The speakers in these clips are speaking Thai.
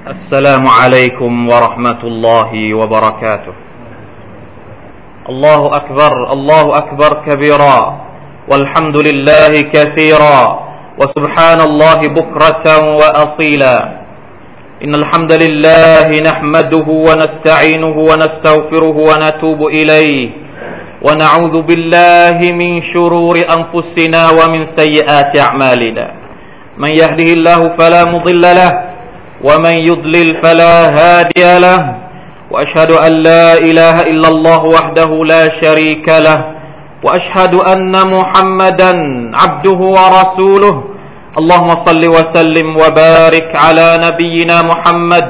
السلام عليكم ورحمة الله وبركاته الله أكبر الله أكبر كبيرا والحمد لله كثيرا وسبحان الله بكرة وأصيلا إن الحمد لله نحمده ونستعينه ونستغفره ونتوب إليه ونعوذ بالله من شرور أنفسنا ومن سيئات أعمالنا من يهده الله فلا مضل له ومن يضلل فلا هادي له وأشهد أن لا إله إلا الله وحده لا شريك له وأشهد أن محمدا عبده ورسوله اللهم صل وسلم وبارك على نبينا محمد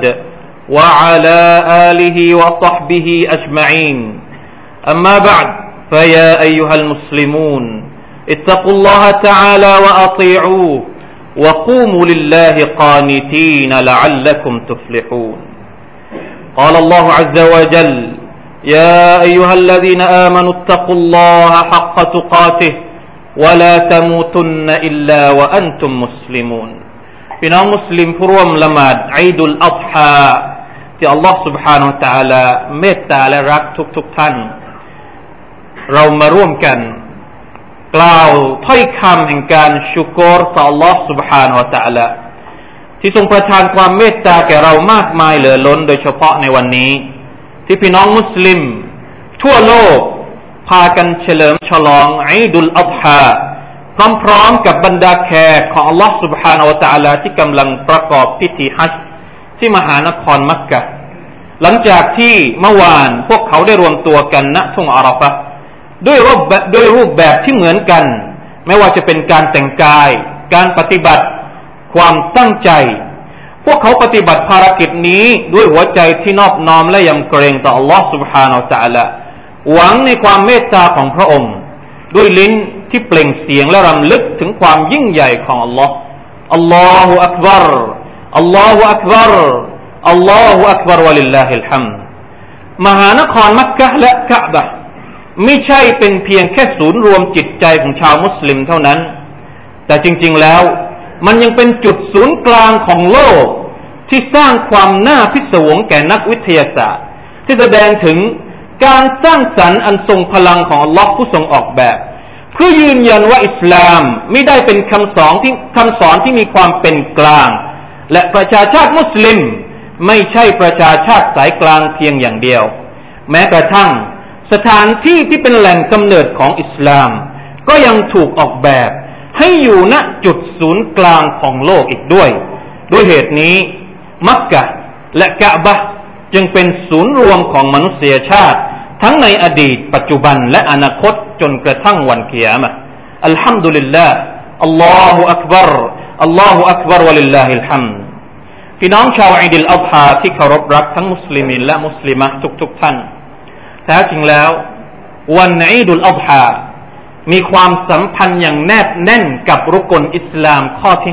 وعلى آله وصحبه أجمعين أما بعد فيا أيها المسلمون اتقوا الله تعالى وأطيعوه وقوموا لله قانتين لعلكم تفلحون قال الله عز وجل يا أيها الذين آمنوا اتقوا الله حق تقاته ولا تموتن إلا وأنتم مسلمون พี่น้องมุสลิมผู้ร่วมละหมาดอีดุลอัฎฮาที่อัลลอฮฺ سبحانه และ تعالى เมตตาและรักทุกท่านเรามาร่วมกันกล่าวถ้อยคำแห่งการชุกรต่อ Allah سبحانه และ تعالى ที่ทรงประทานความเมตตาแก่เรามากมายเหลือล้นโดยเฉพาะในวันนี้ที่พี่น้องมุสลิมทั่วโลกพากันเฉลิมฉลองอีดุลอัฎฮาพร้อมๆกับบรรดาแขกของ Allah سبحانه และ تعالى ที่กำลังประกอบพิธีฮัจญ์ที่มหานครมักกะฮ์หลังจากที่เมื่อวานพวกเขาได้รวมตัวกันณทุ่งอาราฟะห์ด้วยรูปแบบที่เหมือนกันไม่ว่าจะเป็นการแต่งกายการปฏิบัติความตั้งใจพวกเขาปฏิบัติภารกิจนี้ด้วยหัวใจที่นอบน้อมและยำเกรงต่อ Allah سبحانه และ تعالى หวังในความเมตตาของพระองค์ด้วยลิ้นที่เปล่งเสียงและรำลึกถึงความยิ่งใหญ่ของ Allah อัลลอฮุอักบัรอัลลอฮุอักบัรอัลลอฮุอักบัรวะลิลลาฮิลฮัมด์มหานครมักกะฮ์และกะอ์บะห์ไม่ใช่เป็นเพียงแค่ศูนย์รวมจิตใจของชาวมุสลิมเท่านั้นแต่จริงๆแล้วมันยังเป็นจุดศูนย์กลางของโลกที่สร้างความน่าพิศวงแก่นักวิทยาศาสตร์ที่แสดงถึงการสร้างสรรค์อันทรงพลังของอัลลอฮ์ผู้ทรงออกแบบเพื่อยืนยันว่าอิสลามไม่ได้เป็นคำสอนที่มีความเป็นกลางและประชาชาติมุสลิมไม่ใช่ประชาชาติสายกลางเพียงอย่างเดียวแม้กระทั่งสถานที่ที่เป็นแหล่งกำเนิดของอิสลามก็ยังถูกออกแบบให้อยู่ณจุดศูนย์กลางของโลกอีกด้วยเหตุนี้มักกะฮ์และกะอ์บะห์จึงเป็นศูนย์รวมของมนุษยชาติทั้งในอดีตปัจจุบันและอนาคตจนกระทั่งวันกิยามะฮ์อัลฮัมดุลิลลาห์อัลลอฮุอักบัรอัลลอฮุอักบัรวะลิลลาฮิลฮัมด์พี่น้องชาวอีดุลอัฎฮาที่เคารพรักทั้งมุสลิมีนและมุสลิมะห์ทุกท่านแท้จริงแล้ววันอีดุลอัฎฮามีความสัมพันธ์อย่างแนบแน่นกับรุกนอิสลามข้อที่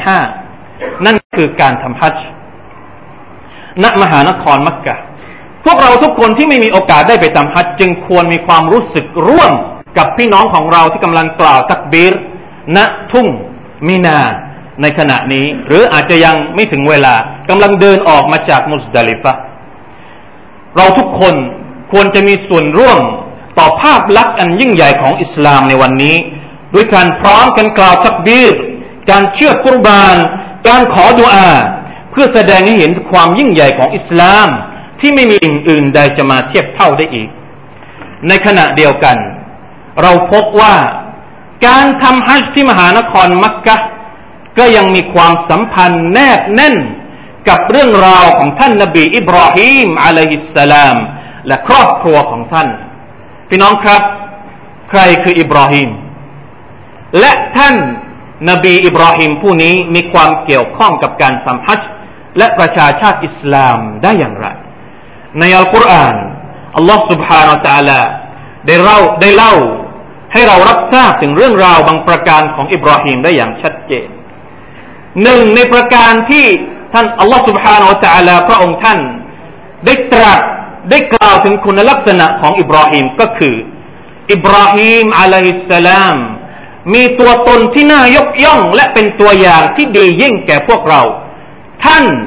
5นั่นคือการทำฮัจญ์ณมหานครมักกะฮ์พวกเราทุกคนที่ไม่มีโอกาสได้ไปทำฮัจญ์จึงควรมีความรู้สึกร่วมกับพี่น้องของเราที่กำลังกล่าวตักบีรณทุ่งมินาในขณะนี้หรืออาจจะยังไม่ถึงเวลากำลังเดินออกมาจากมุซดะลิฟะห์เราทุกคนควรจะมีส่วนร่วมต่อภาพลักษณ์อันยิ่งใหญ่ของอิสลามในวันนี้ด้วยการพร้อมกันกล่าวตักบีรการเชือดกุรบานการขอดุอาเพื่อแสดงให้เห็นความยิ่งใหญ่ของอิสลามที่ไม่มีสิ่งอื่นใดจะมาเทียบเท่าได้อีกในขณะเดียวกันเราพบว่าการทำฮัจญ์ที่มหานครมักกะฮ์ก็ยังมีความสัมพันธ์แนบแน่นกับเรื่องราวของท่านนบีอิบราฮีมอะลัยฮิสสลามและครอบครัวของท่านพี่น้องครับใครคืออิบราฮีมและท่านนบีอิบราฮีมผู้นี้มีความเกี่ยวข้องกับการทำฮัจญ์และประชาชาติอิสลามได้อย่างไรในอัลกุรอานอัลลอฮฺ سبحانه และ تعالى ได้เล่าให้เรารับทราบถึงเรื่องราวบางประการของอิบราฮีมได้อย่างชัดเจนหนึ่งในประการที่ท่านอัลลอฮฺ سبحانه และ تعالى พระองค์ท่านได้ตรัสได้กล่าวถึงคุณลักษณะของอิบราฮีมก็คืออิบราฮีมอะลัยฮิสสลามมีตัวตนที่น่ายกย่องและเป็นตัวอย่างที่ดียิ่งแก่พวกเราท่าน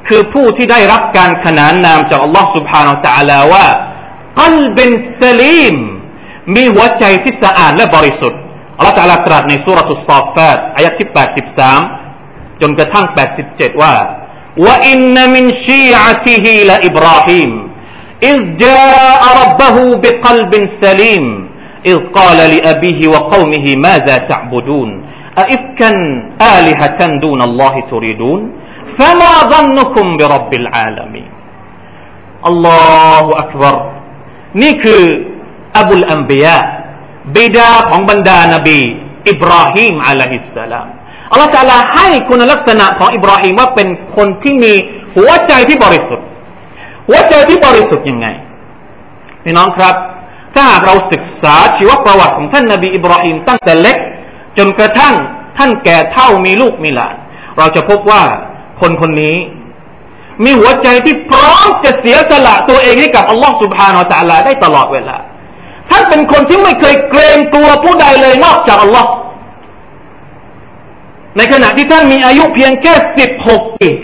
คือผู้ที่ได้รับการขนานนามจากอัลลอฮ์ سبحانه และ تعالى ว่ากัลบินซะลีมมีหัวใจที่สะอาดและบริสุทธิ์อัลลอฮ์ تعالى ตรัสในซูเราะตุสศอฟฟาตอายะห์ที่83จนกระทั่ง87ว่าว่าอินนมินชีอะติฮิลาอิบราฮีมอิซจาอะร็อบบะฮูบิกัลบินซะลีมอิซกาลลิอะบีฮิวะกอมิฮิมาซาตะอ์บุดูนอะอิฟกันอาลิฮะตันดูนัลลอฮิตุริดูนฟะมาظنكم برب العالمين อัลลอฮุอักบัรนี่คืออบุลอัมบิยาบิดาของบรรดานบีอิบราฮีมอะลัยฮิสสลามอัลลอฮฺตะอาลาให้คุณลักษณะของอิบราฮีมว่าเป็นคนที่มีหัวใจที่บริสุทธิ์หัวใจที่บริสุทธิ์ยังไงพี่น้องครับถ้าหากเราศึกษาชีวประวัติของท่านนบีอิบราฮีมตั้งแต่เล็กจนกระทั่งท่านแก่เฒ่ามีลูกมีหลานเราจะพบว่าคนคนนี้มีหัวใจที่พร้อมจะเสียสละตัวเองให้กับอัลลอฮฺ سبحانه และ تعالى ได้ตลอดเวลาท่านเป็นคนที่ไม่เคยเกรงกลัวผู้ใดเลยนอกจากอัลลอฮฺในขณะที่ท่านมีอายุเพียงแค่16 ปี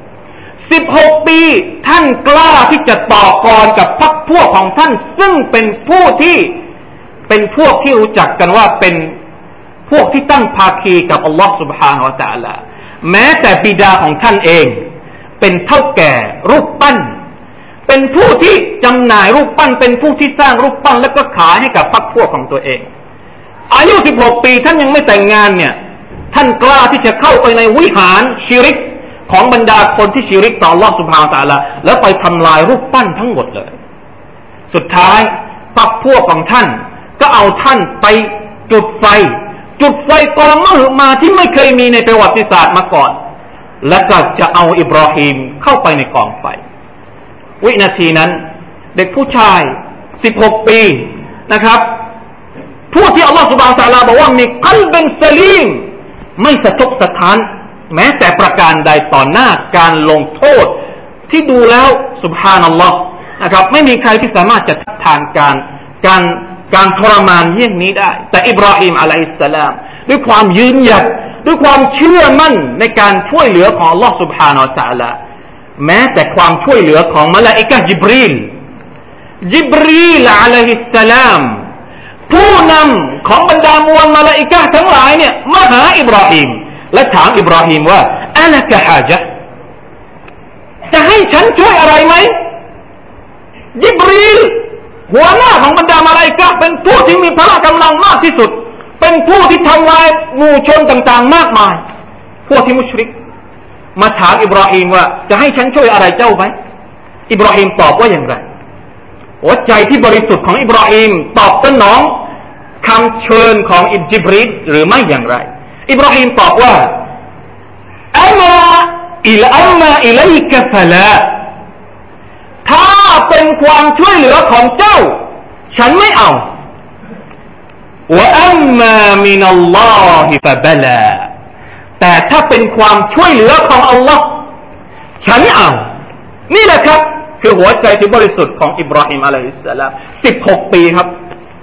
16 ปีท่านกล้าที่จะต่อกรกับพรรคพวกของท่านซึ่งเป็นพวกที่รู้จักกันว่าเป็นพวกที่ตั้งภาคีกับอัลลอฮฺ سبحانه และ تعالى แม้แต่บิดาของท่านเองเป็นเฒ่าแก่รูปปั้นเป็นผู้ที่จำหน่ายรูปปั้นเป็นผู้ที่สร้างรูปปั้นแล้วก็ขายให้กับพรรคพวกของตัวเองอายุ16 ปีท่านยังไม่แต่งงานเนี่ยท่านกล้าที่จะเข้าไปในวิหารชิริกของบรรดาคนที่ชิริกต่ออัลเลาะห์ซุบฮานะฮูวะตะอาลาแล้วไปทำลายรูปปั้นทั้งหมดเลยสุดท้ายพรรคพวกของท่านก็เอาท่านไปจุดไฟกองมหึมาที่ไม่เคยมีในประวัติศาสตร์มาก่อนแล้วก็จะเอาอิบราฮีมเข้าไปในกองไฟวินาทีนั้นเด็กผู้ชาย16 ปีนะครับผู้ที่อัลลอฮฺซุบฮานะฮูวะตะอาลาบอกว่ามีกัลบินซะลีมไม่สะทกสะท้านแม้แต่ประการใดต่อหน้าการลงโทษที่ดูแล้วซุบฮานัลลอฮ์นะครับไม่มีใครที่สามารถจะทานการทรมานเยี่ยงนี้ได้แต่อิบราฮีมอะลัยฮิสสลามด้วยความยืนหยัดด้วยความเชื่อมั่นในการช่วยเหลือของอัลลอฮ์ซุบฮานะฮูวะตะอาลาแม้แต่ความช่วยเหลือของมลาอิกะฮ์ญิบรีลอะลัยฮิสสลามผู้นำของบรรดามวลมลาอิกะฮ์ทั้งหลายเนี่ยมาหาอิบราฮีมและถามอิบราฮีมว่าอะลักะฮาจะห์จะให้ฉันช่วยอะไรไหมญิบรีลหัวหน้าของบรรดามลาอิกะฮ์เป็นผู้ที่มีพละกำลังมากที่สุดเป็นผู้ที่ทำลายหมู่ชนต่างๆมากมายพวกที่มุชริกมาถามอิบราฮีมว่าจะให้ฉันช่วยอะไรเจ้าไหมอิบราฮีมตอบว่าอย่างไรหัวใจที่บริสุทธิ์ของอิบราฮีมตอบสนองคำเชิญของญิบรีลหรือไม่อย่างไรอิบราฮีมตอบว่าอัมมาอิลัยกะฟะลาถ้าเป็นความช่วยเหลือของเจ้าฉันไม่เอาวะอัมมามินัลลอฮิฟะบะลาแต่ถ้าเป็นความช่วยเหลือของอัลลอฮ์ฉันเอานี่แหละครับคือหัวใจที่บริสุทธิ์ของอิบราฮิมอะลัยฮิสสลาม16 ปีครับ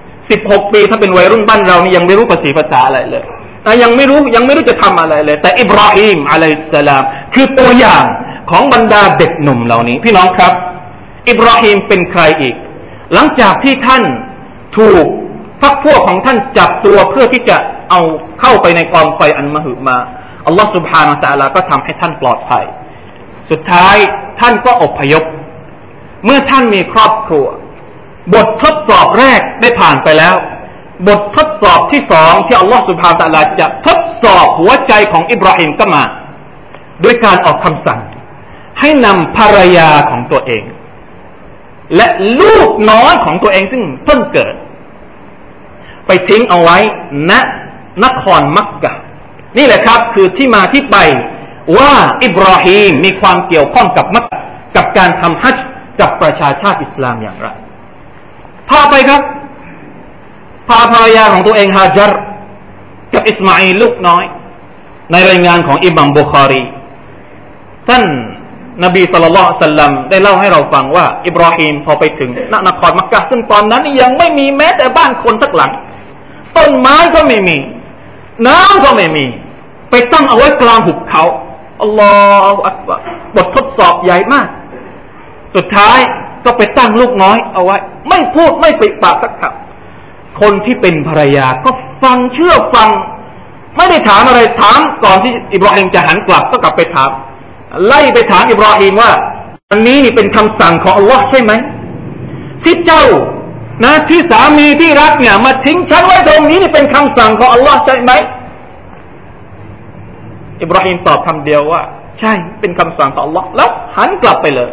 16 ปีถ้าเป็นวัยรุ่นบ้านเรานี่ยังไม่รู้ภาษาอะไรเลยยังไม่รู้จะทำอะไรเลยแต่อิบราฮิมอะลัยฮิสสลามคือตัวอย่างของบรรดาเด็กหนุ่มเหล่านี้พี่น้องครับอิบราฮิมเป็นใครอีกหลังจากที่ท่านถูกพรรคพวกของท่านจับตัวเพื่อที่จะเอาเข้าไปในกองไฟอันมหึมาอัลลอฮฺ سبحانه และ تعالى ก็ทำให้ท่านปลอดภัยสุดท้ายท่านก็อพยพเมื่อท่านมีครอบครัวบททดสอบแรกได้ผ่านไปแล้วบททดสอบที่2ที่อัลลอฮฺ سبحانه และ تعالى จะทดสอบหัวใจของอิบราฮิมก็มาด้วยการออกคำสั่งให้นำภรรยาของตัวเองและลูกน้อยของตัวเองซึ่งเพิ่งเกิดไปทิ้งเอาไว้ณนครมักกะฮ์นี่แหละครับคือที่มาที่ไปว่าอิบราฮีมมีความเกี่ยวข้องกับมักกะฮ์กับการทำฮัจญ์กับประชาชาติอิสลามอย่างไรพาไปครับพาภรรยาของตัวเองฮาญัรกับอิสมาอีลลูกน้อยในรายงานของอิหม่ามบุคอรีท่านนบีศ็อลลัลลอฮุอะลัยฮิวะซัลลัมได้เล่าให้เราฟังว่าอิบราฮีมพอไปถึงนครมักกะฮ์ซึ่งตอนนั้นยังไม่มีแม้แต่บ้านคนสักหลังต้นไม้ก็ไม่มีน้ำก็ไม่มีไปตั้งเอาไว้กลางหุบเขาอัลลอฮฺอักบัรบททดสอบใหญ่มากสุดท้ายก็ไปตั้งลูกน้อยเอาไว้ไม่พูดไม่ปิดปากสักคำคนที่เป็นภรรยาก็ฟังเชื่อฟังไม่ได้ถามอะไรถามก่อนที่อิบราฮิมจะหันกลับก็กลับไปถามไล่ไปถามอิบราฮิมว่าอันนี้นี่เป็นคำสั่งของอัลลอฮ์ใช่ไหมที่เจ้านะที่สามีที่รักเนี่ยมาทิ้งฉันไว้ตรงนี้นี่เป็นคำสั่งของอัลลอฮ์ใช่ไหมอิบราฮิมตอบคำเดียวว่าใช่เป็นคำสั่งของอัลลอฮ์แล้วหันกลับไปเลย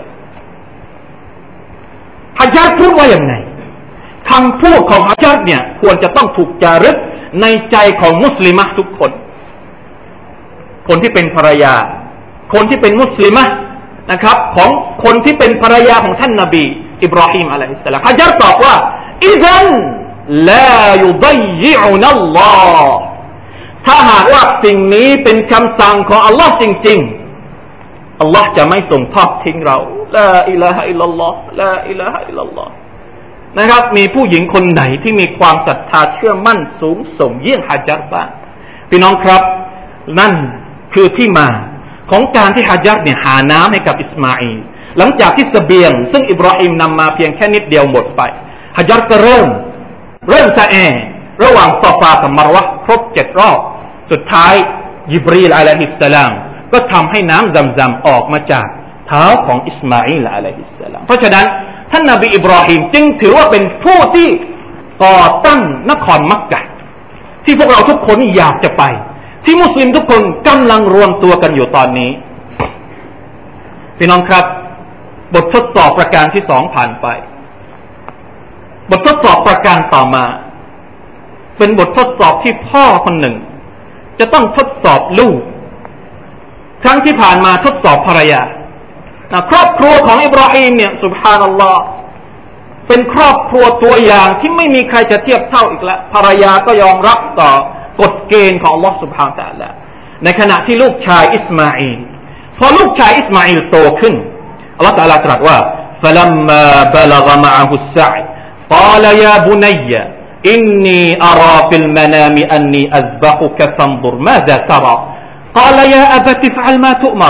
ฮะญาตพูดว่าอย่างไงคำพูดของฮะญาตเนี่ยควรจะต้องถูกจารึกในใจของมุสลิมะทุกคนคนที่เป็นภรรยาคนที่เป็นมุสลิมะนะครับของคนที่เป็นภรรยาของท่านนบีอิบราฮิมอะลัยฮิสสลามฮะญาตตอบว่าอิซันลายุฎยิอุนัลลอฮ์ถ้าหากว่าสิ่งนี้เป็นคำสั่งของอัลลอฮ์จริงๆอัลลอฮ์จะไม่ส่งทอดทิ้งเราลาอิลาฮะอิลลัลลอฮ์ลาอิลาฮะอิลลัลลอฮ์นะครับมีผู้หญิงคนไหนที่มีความศรัทธาเชื่อมั่นสูงส่งเยี่ยงฮะญาตบ้างพี่น้องครับนั่นคือที่มาของการที่ฮะญาตเนี่ยหาน้ำให้กับอิสมาอีลหลังจากที่เสบียงซึ่งอิบราฮิมนำมาเพียงแค่นิดเดียวหมดไปฮะญาตก็เริ่มซะระหว่างซอฟากับมารวะครบ7รอบสุดท้ายญิบรีลอะลัยฮิสสลามก็ทำให้น้ำซัมซัมออกมาจากเท้าของอิสมาอีลอะลัยฮิสสลามเพราะฉะนั้นท่านนบีอิบราฮิมจึงถือว่าเป็นผู้ที่ก่อตั้งนครมักกะฮ์ที่พวกเราทุกคนอยากจะไปที่มุสลิมทุกคนกำลังรวมตัวกันอยู่ตอนนี้พี่น้องครับบททดสอบประการที่2ผ่านไปบททดสอบประการต่อมาเป็นบททดสอบที่พ่อคนหนึ่งจะต้องทดสอบลูกครั้งที่ผ่านมาทดสอบภรรยาครอบครัวของอิบราฮิมเนี่ยซุบฮานัลลอฮ์เป็นครอบครัวตัวอย่างที่ไม่มีใครจะเทียบเท่าอีกแล้วภรรยาก็ยอมรับต่อกฎเกณฑ์ของอัลลอฮ์ซุบฮานะฮูวะตะอาลาในขณะที่ลูกชายอิสมาอีลพอลูกชายอิสมาอีลโตขึ้นอัลลอฮ์ตะอาลาตรัสว่า فلما بلغ معه السعي قال يا بني إني أرى في المنام أني أذبحك فانظر ماذا ترى قال يا أبت افعل ما تؤمر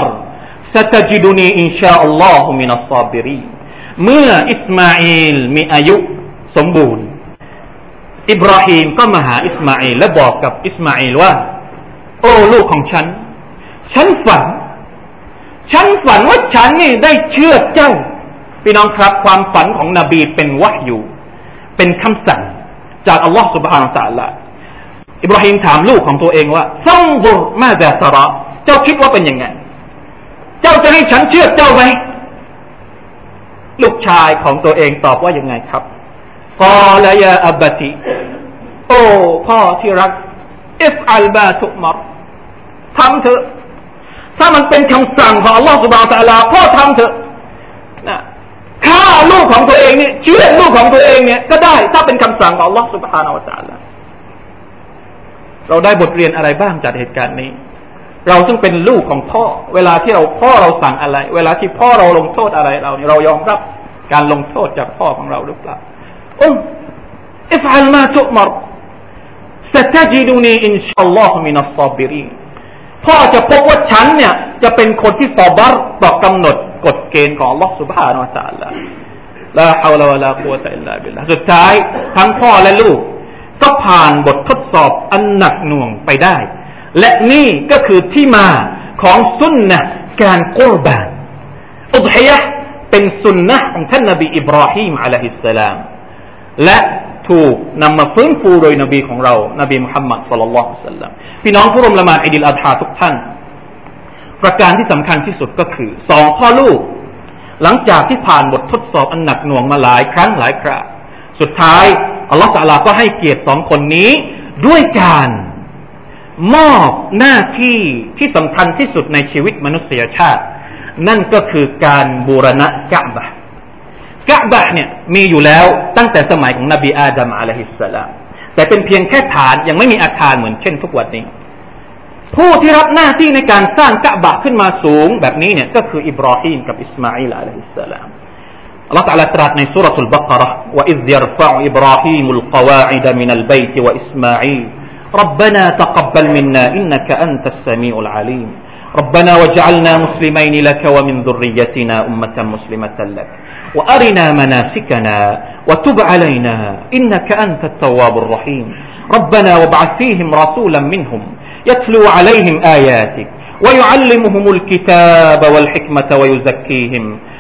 ستجدني إن شاء الله من الصابرين เมื่ออิสมาอีลมีอายุสมบูรณ์อิบราฮิมก็มาหาอิสมาอีลและบอกกับอิสมาอีลว่าโอ้ลูกของฉันฝันว่าฉันนี่ได้เชื่อเจ้าพี่น้องครับความฝันของนบีเป็นวะห์ยูเป็นคำสั่งจากอัลลอฮฺ سبحانه และ تعالى อิบราฮิมถามลูกของตัวเองว่าฟังซุรมาซาตะเราะเจ้าคิดว่าเป็นยังไงเจ้าจะให้ฉันเชื่อเจ้าไหมลูกชายของตัวเองตอบว่ายังไงครับกอลยาอับติโอ้พ่อที่รักอิฟอัลบาตุมรทำเถอะถ้ามันเป็นคำสั่งของอัลลอฮฺ سبحانه และ تعالى พ่อทำเถอะนะฆ่าลูกของตัวเองเนี่ยเชื่อลูกของตัวเองเนี่ยก็ได้ถ้าเป็นคำสั่งของอัลลอฮฺ سبحانه และ تعالى เราได้บทเรียนอะไรบ้างจากเหตุการณ์นี้เราซึ่งเป็นลูกของพ่อเวลาที่พ่อเราสั่งอะไรเวลาที่พ่อเราลงโทษอะไรเราเนี่ยเรายอมรับการลงโทษจากพ่อของเราหรือเปล่าอิฟอัลมาตุอ์มัรستجدني إن شاء الله من الصابرين พ่อจะพบว่าฉันเนี่ยจะเป็นคนที่ซอบัรต่อกำหนดกฎเกณฑ์ของ Allah سبحانه และ تعالى ลาฮาวลาวะลากุวะตะอิลลาบิลลาห์สุดท้ายทั้งพ่อและลูกก็ผ่านบททดสอบอันหนักหน่วงไปได้และนี่ก็คือที่มาของสุนนะห์การกุรบานอุฎฮิยะห์เป็นสุนนะห์ของท่านนบีอิบราฮิมอะลัยฮิสสลามและถูกนำมาฟื้นฟูโดยนบีของเรานบีมุฮัมมัดศ็อลลัลลอฮุอะลัยฮิวะซัลลัมพี่น้องผู้ร่วมละหมาดอีดิลอัฎฮาทุกท่านประการที่สำคัญที่สุดก็คือสองพ่อลูกหลังจากที่ผ่านบททดสอบอันหนักหน่วงมาหลายครั้งหลายคราสุดท้ายอัลลอฮฺตะอาลาก็ให้เกียรติสองคนนี้ด้วยการมอบหน้าที่ที่สำคัญที่สุดในชีวิตมนุษยชาตินั่นก็คือการบูรณะกะอ์บะห์เนี่ยมีอยู่แล้วตั้งแต่สมัยของนบีอาดัมอะลัยฮิสสลามแต่เป็นเพียงแค่ฐานยังไม่มีอาคารเหมือนเช่นทุกวันนี้ผู้ที่รับหน้าที่ในการสร้างกะอ์บะห์ขึ้นมาสูงแบบนี้เนี่ยก็คืออิบราฮิมกับอิสมาอีลอะลัยฮิสสลามอัลเลาะห์ตะอาลาตรัสในซูเราะตุลบักเราะห์วะอิซยัรฟะอุอิบราฮีมุลกวาอิดมินัลบัยตวะอิสมาอีลربنا تقبل منا إنك أنت السميع العليم ربنا وجعلنا مسلمين لك ومن ذريتنا أمة مسلمة لك وأرنا مناسكنا وتب علينا إنك أنت التواب الرحيم ربنا وابعث فيهم رسولا منهم يتلو عليهم آياتك ويعلمهم الكتاب والحكمة ويزكيهم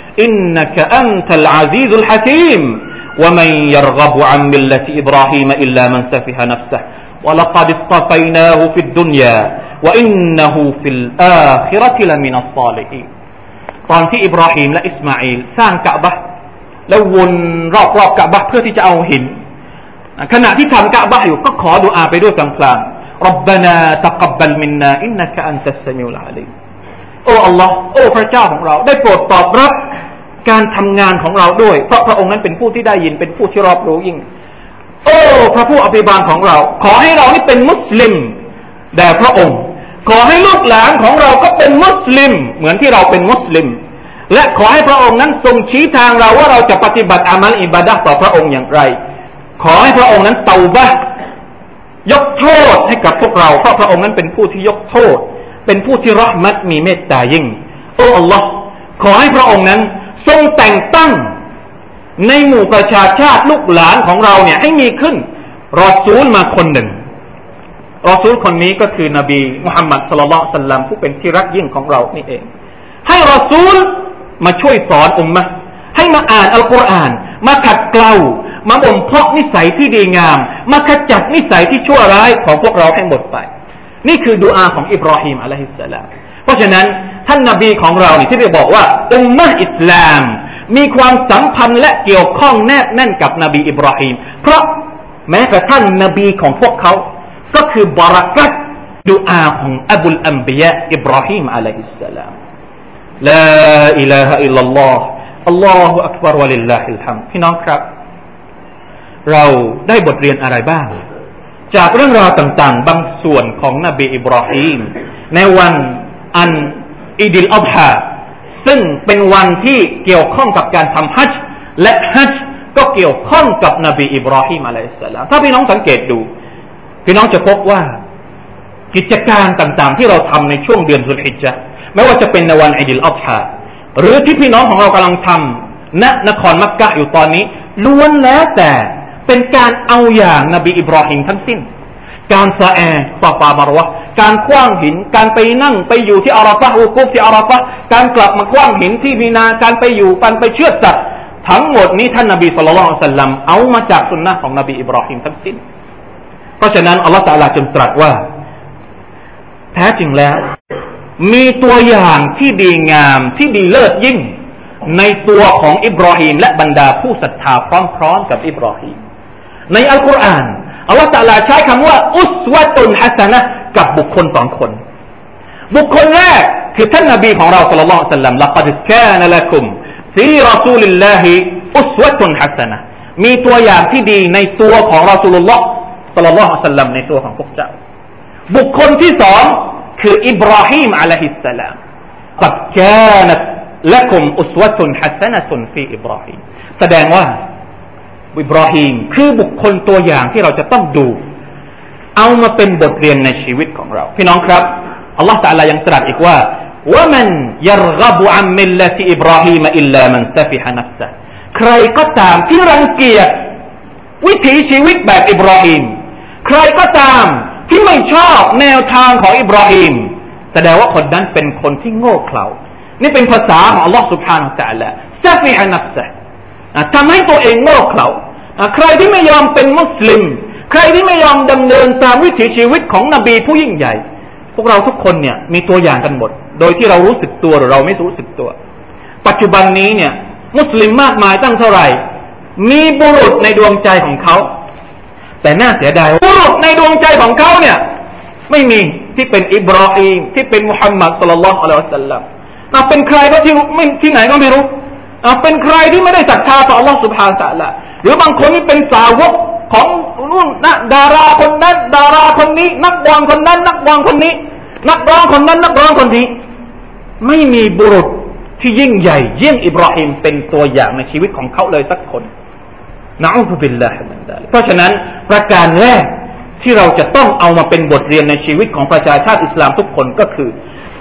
إنك أنت العزيز الحكيم ومن يرغب عن ملة إبراهيم إلا من سفه نفسه ولقد اصطفيناه في الدنيا وإنه في الآخرة لمن الصالحين ตอนที่อิบราฮิมและอิสมาอีลสร้างกะบะห์แล้ววนรอบๆกะบะห์เพื่อที่จะเอาหินขณะที่ทำกะบะห์อยู่ก็ขอดุอาไปด้วยพลางๆ ربنا تقبل منا إنك أنت السميع العليم โอ้ Allah โอ้พระเจ้าของเราได้โปรดตอบรับการทำงานของเราด้วยเพราะพระองค์นั้นเป็นผู้ที่ได้ยินเป็นผู้ที่รอบรู้ยิ่งโอ้พระผู้อภิบาลของเราขอให้เรานี่เป็นมุสลิมแด่พระองค์ขอให้ลูกหลานของเราก็เป็นมุสลิมเหมือนที่เราเป็นมุสลิมและขอให้พระองค์นั้นทรงชี้ทางเราว่าเราจะปฏิบัติอามัลอิบาดะห์ต่อพระองค์อย่างไรขอให้พระองค์นั้นเตาบะห์ยกโทษให้กับพวกเราเพราะพระองค์นั้นเป็นผู้ที่ยกโทษเป็นผู้ที่เราะห์มัตมีเมตตายิ่งโอ้อัลลอฮ์ขอให้พระองค์นั้นทรงแต่งตั้งในหมู่ประชาชาติลูกหลานของเราเนี่ยให้มีขึ้นรอซูลมาคนหนึ่งรอซูลคนนี้ก็คือนบีมุฮัมมัดศ็อลลัลลอฮุอะลัยฮิวะซัลลัมผู้เป็นที่รักยิ่งของเรานี่เองให้รอซูลมาช่วยสอนอุมมะห์ให้มาอ่านอัลกุรอานมาขัดเกลามาบ่มเพาะนิสัยที่ดีงามมาขจัดนิสัยที่ชั่วร้ายของพวกเราให้หมดไปนี่คือดุอาของอิบราฮิมอะลัยฮิสสลามเพราะฉะนั้นท่านนบีของเรานี่ที่ได้บอกว่าอุมมะห์อิสลามมีความสัมพันธ์และเกี่ยวข้องแนบแน่นกับนบีอิบราฮิมเพราะแม้กระทั่งนบีของพวกเขาก็คือบารักัตดุอาของอบุลอัมบิยะอิบราฮิมอะลัยฮิสสลามลาอิลาฮะอิลลัลลอฮ์อัลลอฮุอักบัรวะลิลลาฮิลฮัมดพี่น้องครับเราได้บทเรียนอะไรบ้างจากเรื่องราวต่างๆบางส่วนของนบีอิบราฮิมในวันอันอีดิลอัฎฮาซึ่งเป็นวันที่เกี่ยวข้องกับการทำฮัจญ์และฮัจญ์ก็เกี่ยวข้องกับนบีอิบราฮิมอะลัยฮิสสลามถ้าพี่น้องสังเกตดูพี่น้องจะพบว่ากิจการต่างๆที่เราทำในช่วงเดือนซุลฮิจญะห์ไม่ว่าจะเป็นในวันอีดิลอัฎฮาหรือที่พี่น้องของเรากำลังทำณนครมักกะฮ์อยู่ตอนนี้ล้วนแล้วแต่เป็นการเอาอย่างนบีอิบราฮิมทั้งสิ้นการซะอซอฟามารวะห์การขว้างหินการไปนั่งไปอยู่ที่อาราฟะฮ์วุกูฟที่อาราฟะฮ์การกลับมาขว้างหินที่มีนาการไปอยู่การไปเชือดสัตว์ทั้งหมดนี้ท่านนบีศ็อลลัลลอฮุอะลัยฮิวะซัลลัมเอามาจากสุนนะห์ของนบีอิบราฮิมทั้งสิ้นเพราะฉะนั้นอัลเลาะห์ตะอาลาจึงตรัสว่าแท้จริงแล้วมีตัวอย่างที่ดีงามที่ดีเลิศยิ่งในตัวของอิบราฮิมและบรรดาผู้ศรัทธาพร้อมๆกับอิบราฮิมในอัลกุรอานอัลลอฮฺตะอาลาใช้คำว่าอุสวะตุนฮะซะนะห์กับบุคคลสองคนบุคคลแรกคือท่านนบีของเราศ็อลลัลลอฮุอะลัยฮิวะซัลลัมละกัดกานะละกุมฟีรอซูลิลลาฮิอุสวะตุนฮะซะนะห์มีตัวอย่างที่ดีในตัวของรอซูลุลลอฮ์ศ็อลลัลลอฮุอะลัยฮิวะซัลลัมในตัวของพวกเจ้าบุคคลที่สองคืออิบราฮิมอะลัยฮิสสลามกัดกานะละกุมอุสวะตุนฮะซะนะตุนฟีอิบราฮิมแสดงว่าอิบราฮิมคือบุคคลตัวอย่างที่เราจะต้องดูเอามาเป็นบทเรียนในชีวิตของเราพี่น้องครับอัลลอฮฺตะอาลายังตรัสอีกว่า وَمَنْ يَرْغَبُ عَنْ مِلَّةِ إِبْرَاهِيمَ إِلَّا مَنْ سَفِهَ نَفْسَهُ ใครก็ตามที่รังเกียจวิถีชีวิตแบบอิบราฮิมใครก็ตามที่ไม่ชอบแนวทางของอิบราฮิมแสดงว่าคนนั้นเป็นคนที่โง่เขลานี่เป็นภาษาของอัลลอฮฺ سبحانه และ تعالى سَفِهَ نَفْسَهُ ทำให้ตัวเองโง่เขลาใครที่ไม่ยอมเป็นมุสลิมใครที่ไม่ยอมดำเนินตามวิถีชีวิตของนบีผู้ยิ่งใหญ่พวกเราทุกคนเนี่ยมีตัวอย่างกันหมดโดยที่เรารู้สึกตัวหรือเราไม่รู้สึกตัวปัจจุบันนี้เนี่ยมุสลิมมากมายตั้งเท่าไหร่มีบุรุษในดวงใจของเขาแต่น่าเสียดายบุรุษในดวงใจของเขาเนี่ยไม่มีที่เป็นอิบราฮิมที่เป็นมุฮัมมัดศ็อลลัลลอฮุอะลัยฮิวะซัลลัมเป็นใครก็ที่ไหนก็ไม่รู้เป็นใครที่ไม่ได้ศรัทธาต่ออัลเลาะห์ซุบฮานะฮูวะตะอาลาหรือบางคนนี่เป็นสาวกของนู่นนะดาราคนนั้นดาราคนนี้นักบอลคนนั้นนักบอลคนนี้นักร้องคนนั้นนักร้องคนนี้ไม่มีบุรุษที่ยิ่งใหญ่ยิ่งอิบราฮิมเป็นตัวอย่างในชีวิตของเขาเลยสักคนนะอูซุบิลลาฮิมินซาลิกเพราะฉะนั้นประการแรกที่เราจะต้องเอามาเป็นบทเรียนในชีวิตของประชาชาติอิสลามทุกคนก็คือ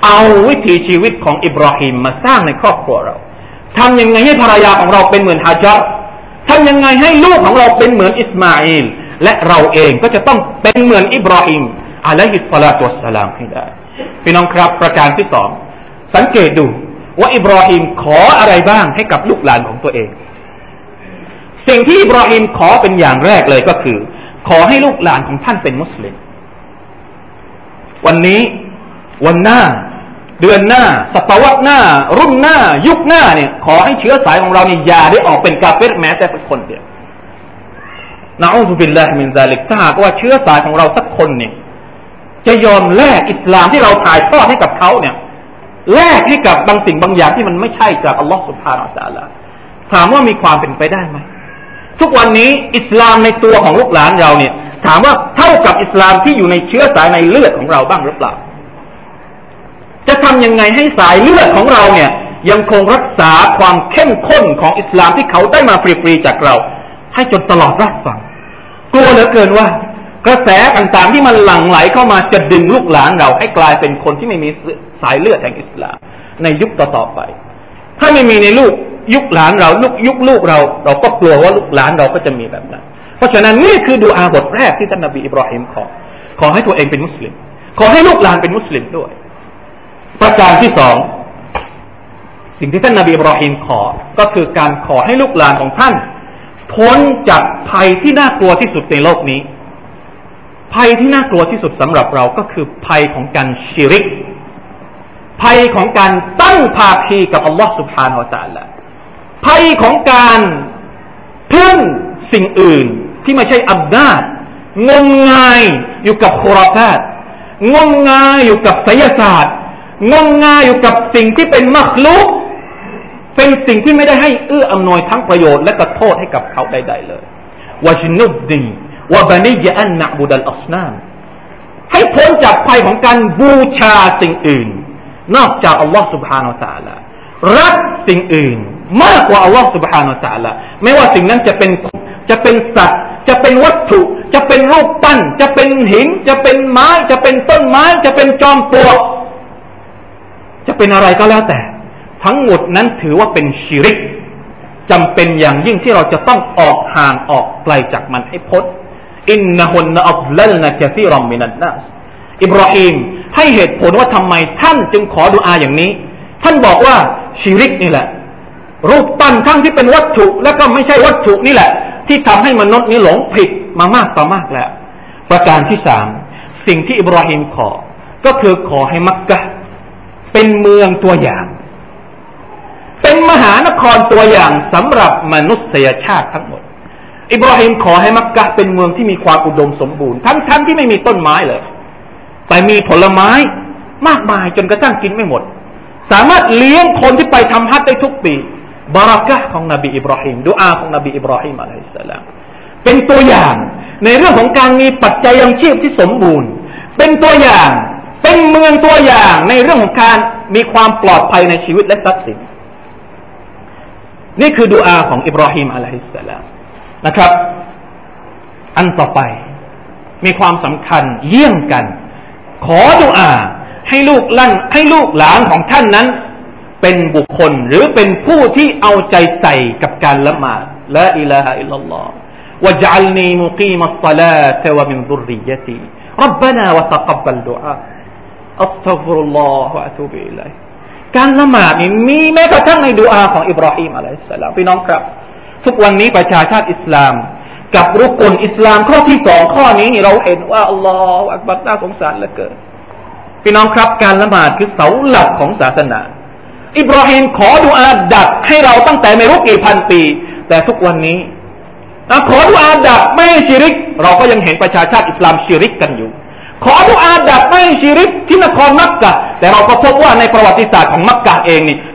เอาวิถีชีวิตของอิบราฮิมมาสร้างในครอบครัวเราทำยังไงให้ภรรยาของเราเป็นเหมือนฮาญัรทำยังไงให้ลูกของเราเป็นเหมือนอิสมาอีลและเราเองก็จะต้องเป็นเหมือนอิบราฮิมอะลัยฮิสซาลาตุวัสสลามให้ได้พี่น้องครับประการที่สองสังเกตดูว่าอิบราฮิมขออะไรบ้างให้กับลูกหลานของตัวเองสิ่งที่อิบราฮิมขอเป็นอย่างแรกเลยก็คือขอให้ลูกหลานของท่านเป็นมุสลิมวันนี้วันหน้าเดือนหน้าศตวรรษหน้ารุ่นหน้ายุคหน้าเนี่ยขอให้เชื้อสายของเราเนี่ยอย่าได้ออกเป็นกาเฟรแม้แต่สักคนเดียวนะอูซุบิลลาฮิมินซาลิกถ้าหากว่าเชื้อสายของเราสักคนเนี่ยจะยอมแลกอิสลามที่เราถ่ายทอดให้กับเขาเนี่ยแลกให้กับบางสิ่งบางอย่างที่มันไม่ใช่จากอัลลอฮฺซุบฮานะฮูวะตะอาลาถามว่ามีความเป็นไปได้ไหมทุกวันนี้อิสลามในตัวของลูกหลานเราเนี่ยถามว่าเท่ากับอิสลามที่อยู่ในเชื้อสายในเลือดของเราบ้างหรือเปล่าจะทำยังไงให้สายเลือดของเราเนี่ยยังคงรักษาความเข้มข้นของอิสลามที่เขาได้มาฟรีๆจากเราให้จนตลอดรับฟังกลัวเหลือเกินว่ากระแสต่างๆที่มันหลั่งไหลเข้ามาจะดึงลูกหลานเราให้กลายเป็นคนที่ไม่มีสายเลือดแห่งอิสลามในยุคต่อๆไปถ้าไม่มีในยุคหลานเรายุคลูกเราก็กลัวว่าลูกหลานเราก็จะมีแบบนั้นเพราะฉะนั้นนี่คือดุอาบทแรกที่ท่านนบีอิบราฮิมขอให้ตัวเองเป็นมุสลิมขอให้ลูกหลานเป็นมุสลิมด้วยประการที่สองสิ่งที่ท่านนบีอิบราฮิมก็คือการขอให้ลูกหลานของท่านพ้นจากภัยที่น่ากลัวที่สุดในโลกนี้ภัยที่น่ากลัวที่สุดสำหรับเราก็คือภัยของการชิริกภัยของการตั้งภาคีกับอัลลอฮฺ سبحانه และ تعالى ภัยของการพึ่งสิ่งอื่นที่ไม่ใช่อำนาจงมงายอยู่กับคุราฟาตงมงายอยู่กับไสยศาสตร์งมงายอยู่กับสิ่งที่เป็นมักลุกเป็นสิ่งที่ไม่ได้ให้เอื้ออำนวยทั้งประโยชน์และก็โทษให้กับเขาใดๆเลยวะจนุบดีวะบะนียะอันนะบุดัลอัศนามให้พ้นจากภัยของการบูชาสิ่งอื่นนอกจากอัลลอฮฺ سبحانه และ تعالى รักสิ่งอื่นมากกว่าอัลลอฮฺ سبحانه และ تعالى ไม่ว่าสิ่งนั้นจะเป็นสัตว์จะเป็นวัตถุจะเป็นรูปปั้นจะเป็นหินจะเป็นไม้จะเป็นต้นไม้จะเป็นจอมปลวกจะเป็นอะไรก็แล้วแต่ทั้งหมดนั้นถือว่าเป็นชิริกจำเป็นอย่างยิ่งที่เราจะต้องออกห่างออกไกลจากมันให้พ้นอินนะฮุนนะอัฎลัลนะกะซีรัมมินันนัสอิบราฮิมให้เหตุผลว่าทำไมท่านจึงขอดุอาอย่างนี้ท่านบอกว่าชิริกนี่แหละรูปปั้นทั้งที่เป็นวัตถุและก็ไม่ใช่วัตถุนี่แหละที่ทำให้มนุษย์นี้หลงผิดมามากต่อมากแล้วประการที่สามสิ่งที่อิบราฮิมก็คือขอให้มักกะฮ์เป็นเมืองตัวอย่างเป็นมหานครตัวอย่างสำหรับมนุษยชาติทั้งหมดอิบราฮิมขอให้มักกะฮ์เป็นเมืองที่มีความอุดมสมบูรณ์ทั้งที่ไม่มีต้นไม้เลยแต่มีผลไม้มากมายจนกระทั่งกินไม่หมดสามารถเลี้ยงคนที่ไปทำฮัจญ์ได้ทุกปีบารักะฮ์ของนบีอิบราฮิมดุอาของนบีอิบราฮิมอะลัยฮิสสลามเป็นตัวอย่างในเรื่องของการมีปัจจัยยังชีพที่สมบูรณ์เป็นตัวอย่างเป็นเมืองตัวอย่างในเรื่องของการมีความปลอดภัยในชีวิตและทรัพย์สินนี่คือดุอาของอิบราฮิมอะลัยฮิสสลามนะครับอันต่อไปมีความสำคัญเยี่ยงกันขอดุอาให้ลูกหลานของท่านนั้นเป็นบุคคลหรือเป็นผู้ที่เอาใจใส่กับการละหมาดลาอิลาฮะอิลลัลลอฮ์วะญะอัลนีมุกีมัสศอลาตะวะมินซุรริยะตีร็อบบะนาวะตะกับบะลดุอาอัสตัฆฟิรุลลอฮวะอะตูบิอิลัยฮิการละหมาดนี่มีแม้กระทั่งในดุอาของอิบราฮิมอะลัยฮิสสลามพี่น้องครับทุกวันนี้ประชาชาติอิสลามกับรุกนอิสลามข้อที่2ข้อนี้เราเห็นว่าอัลลอฮฺอักบัรน่าสงสารเหลือเกินพี่น้องครับการละหมาดคือเสาหลักของศาสนาอิบราฮิมขอดุอาดับให้เราตั้งแต่ไม่รู้กี่พันปีแต่ทุกวันนี้ขอดุอาดับไม่ให้ชิริกเราก็ยังเห็นประชาชาติอิสลามชิริกกันอยู่ขอดุอาดับไม่ให้ชิริกที่นครมักกะแต่เราก็พบว่าในประวัติศาสตร์ของมักกะเองนี่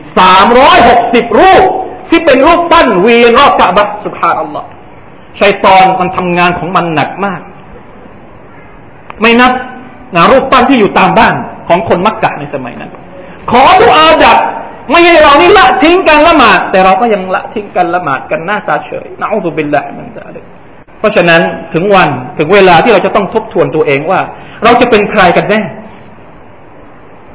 360รูปที่เป็นรูปปั้นเวียนรอบกะบะห์ซุบฮานัลลอฮ์ชัยฏอนมันทำงานของมันหนักมากไม่นับรูปปั้นที่อยู่ตามบ้านของคนมักกะในสมัยนั้นขอดุอาดับไม่ให้เรานี่ละทิ้งการละหมาดแต่เราก็ยังละทิ้งการละหมาดกันหน้าตาเฉยนะอูซุบิลลาฮิมินซาลิกเพราะฉะนั้นถึงเวลาที่เราจะต้องทบทวนตัวเองว่าเราจะเป็นใครกันแน่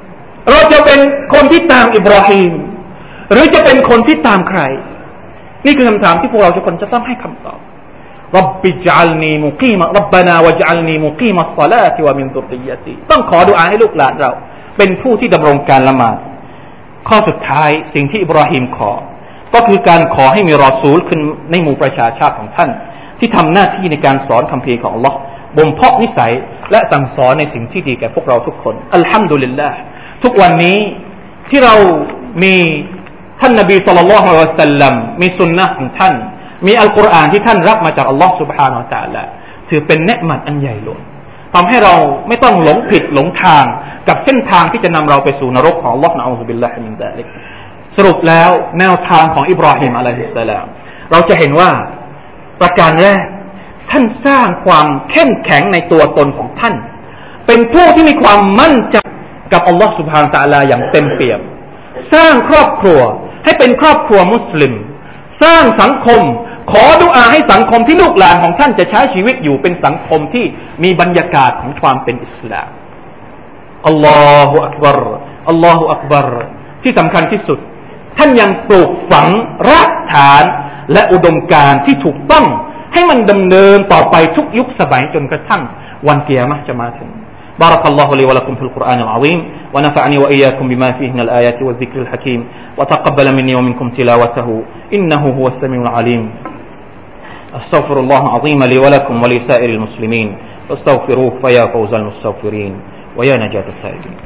เราจะเป็นคนที่ตามอิบราฮิมหรือจะเป็นคนที่ตามใครนี่คือคำถามที่พวกเราทุกคนจะต้องให้คำตอบรับบิจัลนีมุกีมะรับบานาวัจัลนีมุกีมัสศอลาติวะมินซุรริยะติต้องขอดุอาให้ลูกหลานเราเป็นผู้ที่ดำรงการละหมาดข้อสุดท้ายสิ่งที่อิบราฮิมขอก็คือการขอให้มีรอซูลขึ้นในหมู่ประชาชาติของท่านที่ทำหน้าที่ในการสอนคัมภีร์ของอัลลอฮ์บ่มเพาะนิสัยและสั่งสอนในสิ่งที่ดีแก่พวกเราทุกคนอัลฮัมดุลิลลาห์ทุกวันนี้ที่เรามีท่านนบีศ็อลลัลลอฮุอะลัยฮิวะซัลลัมมีสุนนะห์ของท่านมีอัลกุรอานที่ท่านรับมาจากอัลลอฮ์ سبحانه และ تعالى ถือเป็นเนืมัตอันใหญ่หลวงทำให้เราไม่ต้องหลงผิดหลงทางกับเส้นทางที่จะนำเราไปสู่นรกของอัลลอฮ์นะอูซุบิลลาฮิมินซาลิกสรุปแล้วแนวทางของอิบราฮิมอะลัยฮิสสลามเราจะเห็นว่าประการแรกท่านสร้างความเข้มแข็งในตัวตนของท่านเป็นผู้ที่มีความมั่นใจกับอัลลอฮ์ سبحانه และ تعالى อย่างเต็มเปี่ยมสร้างครอบครัวให้เป็นครอบครัวมุสลิมสร้างสังคมขอดุอาให้สังคมที่ลูกหลานของท่านจะใช้ชีวิตอยู่เป็นสังคมที่มีบรรยากาศของความเป็นอิสลามอัลลอฮฺอักบัรอัลลอฮฺอักบัรที่สำคัญที่สุดท่านยังปลูกฝังรากฐานและอุดมการณ์ที่ถูกต้องให้มันดำเนินต่อไปทุกยุคสมัยจนกระทั่งวันกิยามะฮ์จะมาถึงبارك الله لي ولكم في القرآن العظيم ونفعني وإياكم بما فيه من الآيات والذكر الحكيم وتقبل مني ومنكم تلاوته إنه هو السميع العليم أستغفر الله العظيم لي ولكم ولسائر المسلمين فاستغفروه فيا فوز المستغفرين ويا نجاة التائبين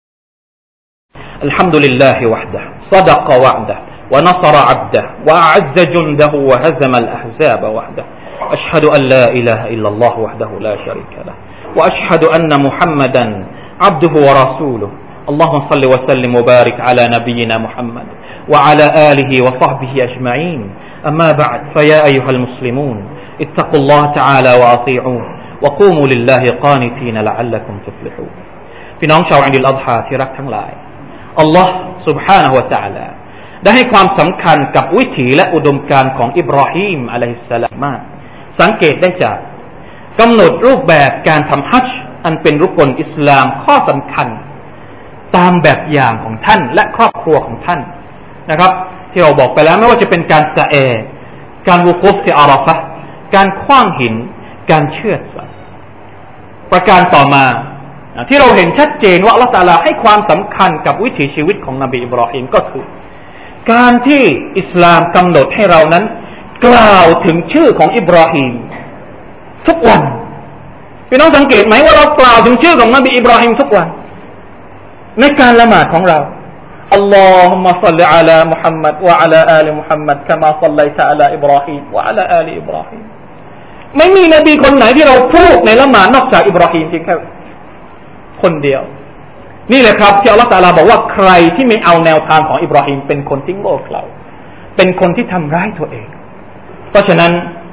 الحمد لله وحده صدق وعده ونصر عبده وأعز جنده وهزم الأحزاب وحده أشهد أن لا إله إلا الله وحده لا شريك له وأشهد أن محمدا عبده ورسوله اللهم صل وسلم وبارك على نبينا محمد وعلى آله وصحبه أجمعين أما بعد فيا أيها المسلمون اتقوا الله تعالى وأطيعوه وقوموا لله قانتين لعلكم تفلحون พี่น้องชาวอีด อัล อัฎฮาที่รักทั้งหลายอัลลอฮ์ سبحانه และ تعالى ได้ให้ความสำคัญกับวิถีและอุดมการณ์ของอิบราฮีมอะลัยฮิสสลามมากสังเกตได้จากกำหนดรูปแบบการทำฮัจญ์อันเป็นรุกนอิสลามข้อสำคัญตามแบบอย่างของท่านและครอบครัวของท่านนะครับที่เราบอกไปแล้วไม่ว่าจะเป็นการสะเอการวุกุฟที่อาราฟะห์การขว้างหินการเชือดสัตว์ประการต่อมาที่เราเห็นชัดเจนว่าอัลเลาะห์ตะอาลาให้ความสำคัญกับวิถีชีวิตของนบีอิบราฮิมก็คือการที่อิสลามกำหนดให้เรานั้นกล่าวถึงชื่อของอิบราฮิมทุกวันพี่น้องสังเกตไหมว่าเรากล่าวถึงชื่อของนบีอิบราฮิมทุกวันในการละหมาดของเราอัลลอฮุมมะศ็อลลิอะลามุฮัมมัดวะอะลาอาลิมุฮัมมัดกะมาศ็อลลัยตะอะลาอิบราฮิมวะอะลาอาลิอิบราฮิมไม่มีนบีคนไหนที่เราพูดในละหมาดนอกจากอิบราฮิมเพียงแค่คนเดียวนี่แหละครับที่อัลเลาะห์ตะอาลาบอกว่าใครที่ไม่เอาแนวทางของอิบราฮิมเป็นคนที่โง่เขลาเป็นคนที่ทำร้ายตัวเองเพราะฉะนั้น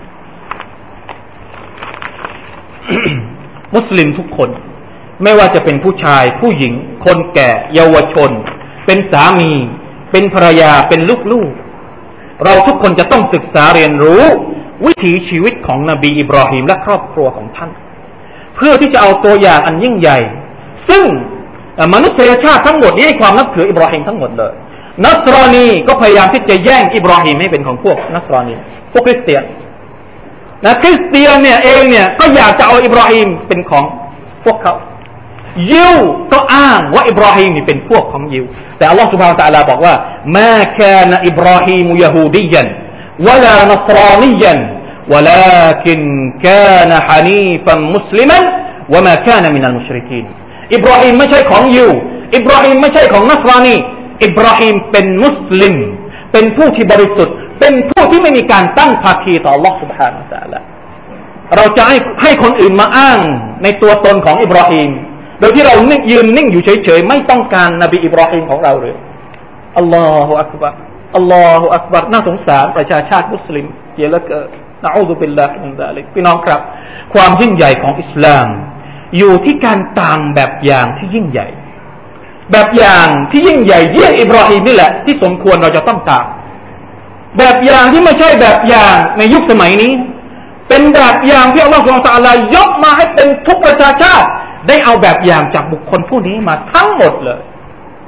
มุสลิมทุกคนไม่ว่าจะเป็นผู้ชายผู้หญิงคนแก่เยาวชนเป็นสามีเป็นภรรยาเป็นลูกๆเราทุกคนจะต้องศึกษาเรียนรู้วิถีชีวิตของนบีอิบราฮิมและครอบครัวของท่านเพื่อที่จะเอาตัวอย่างอันยิ่งใหญ่ซึ่งมนุษยชาติทั้งหมดนี้ให้ความนับถืออิบราฮิมทั้งหมดเลยนัสรอนีก็พยายามที่จะแย่งอิบราฮิมให้เป็นของพวกนัสรอนีพวกคริสเตียนคริสเตียนเนี่ยเองเนี่ยก็อยากจะเอาอิบราฮิมเป็นของพวกเขายิวก็อ้างว่าอิบราฮิมนี่เป็นพวกของยิวแต่อัลลอฮฺ سبحانه และ تعالى บอกว่ามาคานอิบราฮิมยะฮูดียันวะลานัสรานียันولكن كان حنيفا مسلما وما كان من المشركين อิบราฮิมไม่ใช่ของยิวอิบราฮิมไม่ใช่ของนัสรานีอิบราฮิมเป็นมุสลิมเป็นผู้ที่บริสุทธิ์เป็นผู้ที่ไม่มีการตั้งภาคีต่อ Allah سبحانه และ تعالى เราจะให้คนอื่นมาอ้างในตัวตนของอิบราฮิมโดยที่เรายืนนิ่งอยู่เฉยๆไม่ต้องการนบีอิบราฮิมของเราเลยอัลลอฮฺอักบัรอัลลอฮฺอักบัรน่าสงสารประชาชาติมุสลิมเสียเหลือเกินนะอูซุบิลลาฮิมินซาลิกพี่น้องครับความยิ่งใหญ่ของอิสลามอยู่ที่การตามแบบอย่างที่ยิ่งใหญ่แบบอย่างที่ยิ่งใหญ่เยี่ยงอิบราฮิมนี่แหละที่สมควรเราจะต้องตามแบบอย่างที่ไม่ใช่แบบอย่างในยุคสมัยนี้เป็นแบบอย่างที่อัลลอฮฺซุบฮานะฮูวะตะอาลายกมาให้เป็นทุกประชาชาติได้เอาแบบอย่างจากบุคคลผู้นี้มาทั้งหมดเลย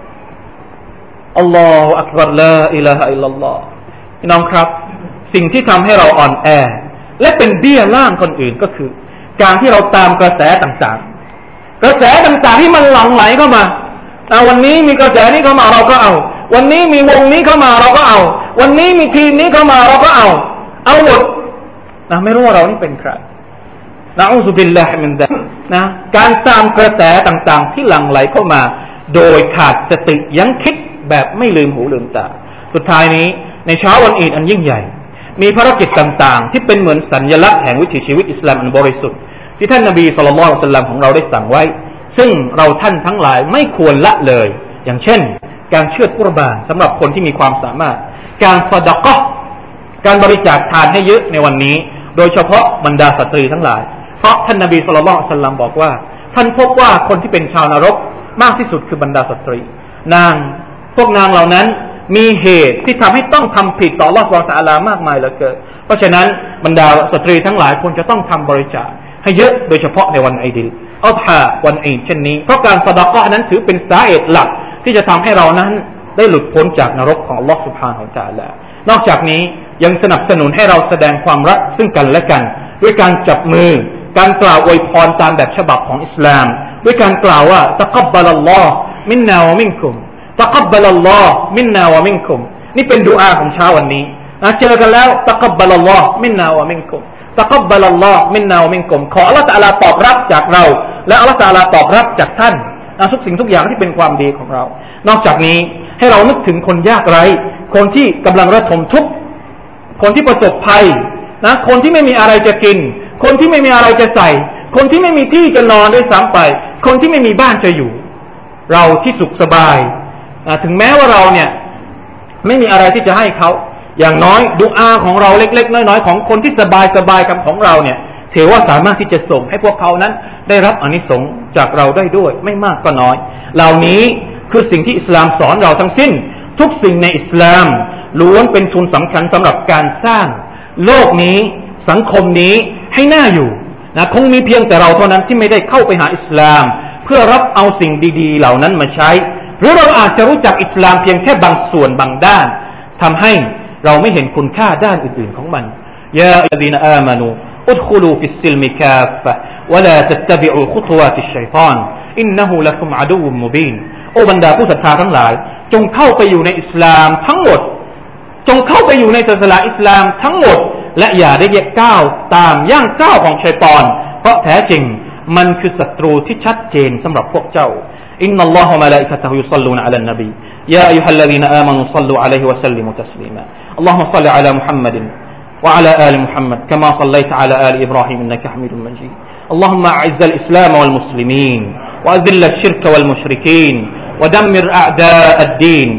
อัลลอฮฺอักบัรลาอิลาฮะอิลลัลลอฮ์พี่น้องครับสิ่งที่ทำให้เราอ่อนแอและเป็นเบี้ยล่างคนอื่นก็คือการที่เราตามกระแสต่างๆกระแสต่างๆที่มันหลั่งไหลเข้ามาวันนี้มีกระแสนี้เข้ามาเราก็เอาวันนี้มีวงนี้เข้ามาเราก็เอาวันนี้มีทีมนี้เข้ามาเราก็เอาหมดไม่รู้ว่าเรานี่เป็นใครนะอูซุบิลลาฮิมินซาลิกนะการตามกระแสต่างๆที่หลั่งไหลเข้ามาโดยขาดสติยั้งคิดแบบไม่ลืมหูลืมตาสุดท้ายนี้ในเช้าวันอีดอันยิ่งใหญ่มีภารกิจต่างๆที่เป็นเหมือนสัญลักษณ์แห่งวิถีชีวิตอิสลามอันบริสุทธิ์ที่ท่านนบีศ็อลลัลลอฮุอะลัยฮิวะซัลลัมของเราได้สั่งไว้ซึ่งเราท่านทั้งหลายไม่ควรละเลยอย่างเช่นการเชือดกุรบานสำหรับคนที่มีความสามารถการซะดะเราะห์การบริจาคทานให้เยอะในวันนี้โดยเฉพาะบรรดาสตรีทั้งหลายเพราะท่านนบีศ็อลลัลลอฮุอะลัยฮิวะซัลลัมบอกว่าท่านพบว่าคนที่เป็นชาวนรกมากที่สุดคือบรรดาสตรีพวกนางเหล่านั้นมีเหตุที่ทำให้ต้องทำผิดต่ออัลเลาะห์ซุบฮานะฮูวะตะอาลามากมายเหลือเกินเพราะฉะนั้นบรรดาสตรีทั้งหลายควรจะต้องทำบริจาคให้เยอะโดยเฉพาะในวันอีดอัลฮาวันอีดเช่นนี้เพราะการซะดะเราะห์นั้นถือเป็นสาเหตุหลักที่จะทำให้เรานั้นได้หลุดพ้นจากนรกของอัลเลาะห์ซุบฮานะฮูวะตะอาลานอกจากนี้ยังสนับสนุนให้เราแสดงความรักซึ่งกันและกันด้วยการจับมือการกล่าวอวยพรตามแบบฉบับของอิสลามด้วยการกล่าวว่าตะกับบะลัลลอฮ์มินนาวะมินกุมตะกับบะลัลลอฮ์มินนาวะมินกุมนี่เป็นดุอาของเช้าวันนี้เจอกันแล้วตะกับบะลัลลอฮ์มินนาวะมินกุมตะกับบะลัลลอฮ์มินนาวะมินกุมขออัลเลาะห์ตะอาลาตอบรับจากเราและอัลเลาะห์ตะอาลาตอบรับจากท่านทุกสิ่งทุกอย่างที่เป็นความดีของเรานอกจากนี้ให้เรานึกถึงคนยากไร้คนที่กำลังระทมทุกข์คนที่ประสบภัยคนที่ไม่มีอะไรจะกินคนที่ไม่มีอะไรจะใส่คนที่ไม่มีที่จะนอนด้วยซ้ำไปคนที่ไม่มีบ้านจะอยู่เราที่สุขสบายถึงแม้ว่าเราเนี่ยไม่มีอะไรที่จะให้เขาอย่างน้อยดุอาของเราเล็กๆน้อยๆของคนที่สบายๆกับของเราเนี่ยถือว่าสามารถที่จะส่งให้พวกเขานั้นได้รับอานิสงส์จากเราได้ด้วยไม่มากก็น้อยเหล่านี้คือสิ่งที่อิสลามสอนเราทั้งสิ้นทุกสิ่งในอิสลามล้วนเป็นทุนสำคัญสำหรับการสร้างโลกนี้สังคมนี้ให้น่าอยู่คงมีเพียงแต่เราเท่านั้นที่ไม่ได้เข้าไปหาอิสลามเพื่อรับเอาสิ่งดีๆเหล่านั้นมาใช้หรือเราอาจจะรู้จักอิสลามเพียงแค่บางส่วนบางด้านทำให้เราไม่เห็นคุณค่าด้านอื่นๆของมันยาอัลลซีนอามานูอุดคุลูฟิสซิลมิกาฟะวะลาตัตตะบิอูคุตวาติชชัยฏอนอินนะฮูละกุมอะดูวุมมุบีนโอ้บรรดาผู้ศรัทธาทั้งหลายจงเข้าไปอยู่ในอิสลามทั้งหมดจงเข้าไปอยู่ในศาสนาอิสลามทั้งหมดและอย่าได้ก้าวตามย่างก้าวของชัยฏอนเพราะแท้จริงมันคือศัตรูที่ชัดเจนสำหรับพวกเจ้าอินนัลลอฮะวะมะลาอิกะตุฮุยุศ็อลลูนอะลันนบียาอัยยูฮัลลซีนอามานูศ็อลลูอะลัยฮิวะซัลลิมูตัสลีมาอัลลอฮุมศ็อลลิอะลามุฮัมมัดوعلى آل محمد كما صليت على آل إبراهيم إنك حميد مجيد اللهم أعز الإسلام والمسلمين وأذل الشرك والمشركين ودمر أعداء الدين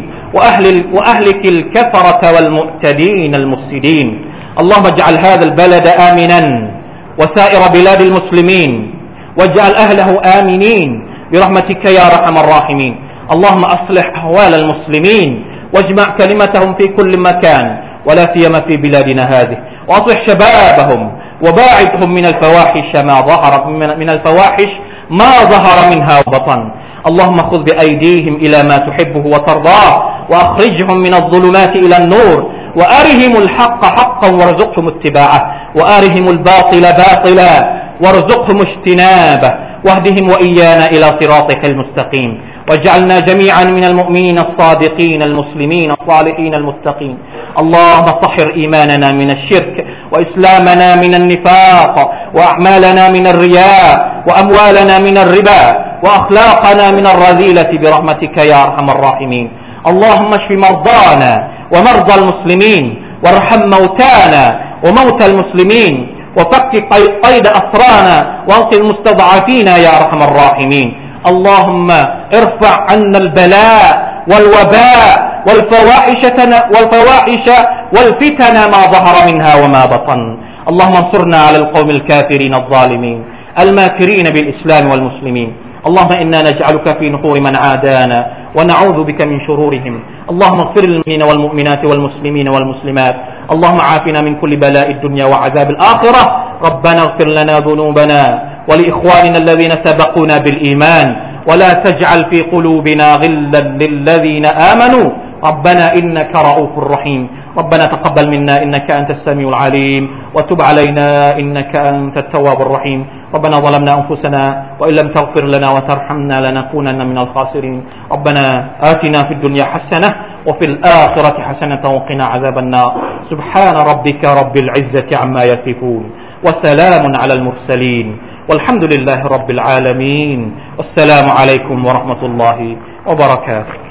وأهلك الكفرة والمعتدين المفسدين اللهم اجعل هذا البلد آمنا وسائر بلاد المسلمين واجعل أهله آمنين برحمتك يا أرحم الراحمين اللهم أصلح أحوال المسلمين واجمع كلمتهم في كل مكان ولا سيما في بلادنا هذه وأصلح شبابهم وباعدهم من الفواحش ما ظهر منها وبطن اللهم خذ بأيديهم إلى ما تحبه وترضاه وأخرجهم من الظلمات إلى النور وأرهم الحق حقا وارزقهم اتباعه وأرهم الباطل باطلا وارزقهم اجتنابه واهدهم وإيانا إلى صراطك المستقيم واجعلنا جميعا من المؤمنين الصادقين المسلمين الصالحين المتقين اللهم طهر إيماننا من الشرك وإسلامنا من النفاق وأعمالنا من الرياء وأموالنا من الربا وأخلاقنا من الرذيلة برحمتك يا أرحم الراحمين اللهم اشف مرضانا ومرضى المسلمين وارحم موتانا وموتى المسلمين وفك قيد أسرانا وانقذ المستضعفين يا أرحم الراحمين اللهم ارفع عنا البلاء والوباء والفواحش والفتن ما ظهر منها وما بطن اللهم انصرنا على القوم الكافرين الظالمين الماكرين بالإسلام والمسلمين اللهم إنا نجعلك في نحور من عادانا ونعوذ بك من شرورهم اللهم اغفر للمؤمنين والمؤمنات والمسلمين والمسلمات اللهم عافنا من كل بلاء الدنيا وعذاب الآخرة ربنا اغفر لنا ذنوبنا ولإخواننا الذين سبقونا بالإيمان ولا تجعل في قلوبنا غلا للذين آمنوا ربنا إنك رؤوف رحيم ربنا تقبل منا إنك أنت السميع العليم وتب علينا إنك أنت التواب الرحيم ربنا ظلمنا أنفسنا وإن لم تغفر لنا وترحمنا لنكونن من الخاسرين ربنا آتنا في الدنيا حسنة وفي الآخرة حسنة وقنا عذاب النار سبحان ربك رب العزة عما يصفون وسلام على المرسلين والحمد لله رب العالمين والسلام عليكم ورحمة الله وبركاته